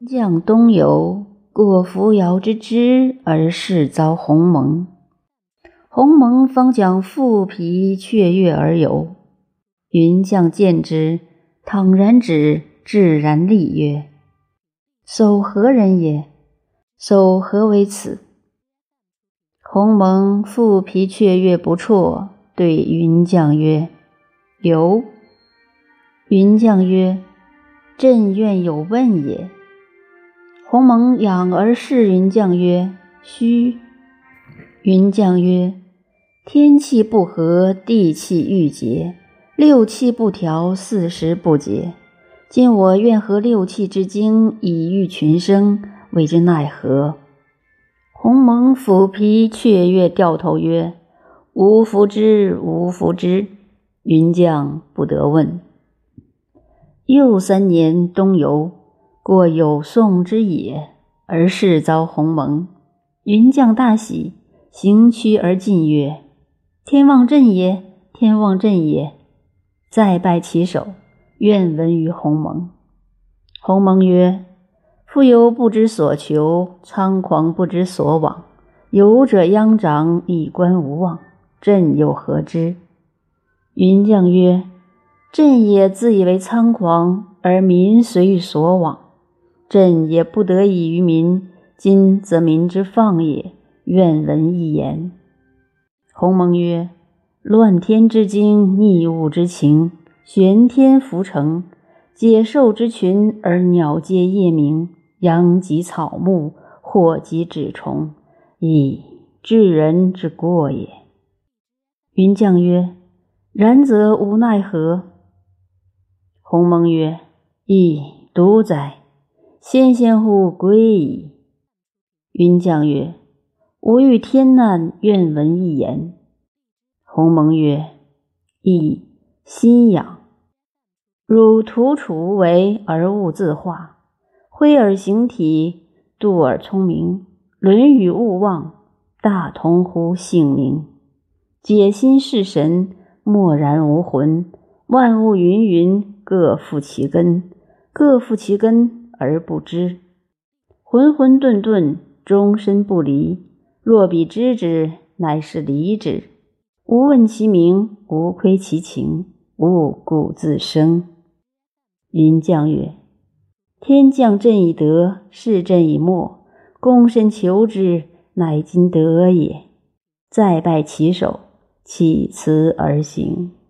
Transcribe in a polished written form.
将东游，过扶摇之枝，而事遭鸿蒙。鸿蒙方将复皮雀跃而游。云将见之，倘然止，自然厉曰：叟何人也？叟何为此？鸿蒙复皮雀跃不辍，对云将曰：游。云将曰：朕愿有问也。鸿蒙仰而视云将曰：须。云将曰：天气不和，地气郁结，六气不调，四时不节。今我愿合六气之精，以御群生，谓之奈何？鸿蒙抚皮雀跃，掉头曰：吾弗之，吾弗之。云将不得问。又3年，东游，过有宋之野，而事遭鸿蒙。云将大喜，行趋而进曰：天望朕也，天望朕也。再拜其手，愿闻于鸿蒙。鸿蒙曰：夫游不知所求，仓狂不知所往，游者殃长，一观无望，朕又何知？云将曰：朕也自以为仓狂，而民随于所往，朕也不得已于民，今则民之放也，愿闻一言。鸿蒙曰：乱天之精，逆物之情，玄天浮成，解兽之群，而鸟皆夜鸣，殃及草木，祸及豸虫，亦治人之过也。云将曰：然则无奈何？鸿蒙曰：亦独哉，先乎归矣。云将曰：吾遇天难，愿闻一言。鸿蒙曰：亦心痒。汝徒处无为，而物自化，挥尔形体，度尔聪明，论语勿忘，大同乎性命。解心释神，默然无魂，万物芸芸，各负其根，各负其根而不知。浑浑沌沌，终身不离。若彼知之，乃是离之。无问其名，无窥其情，吾故自生。云将曰：天降朕以德，是朕以默，躬身求之，乃今得也。再拜其手，弃辞而行。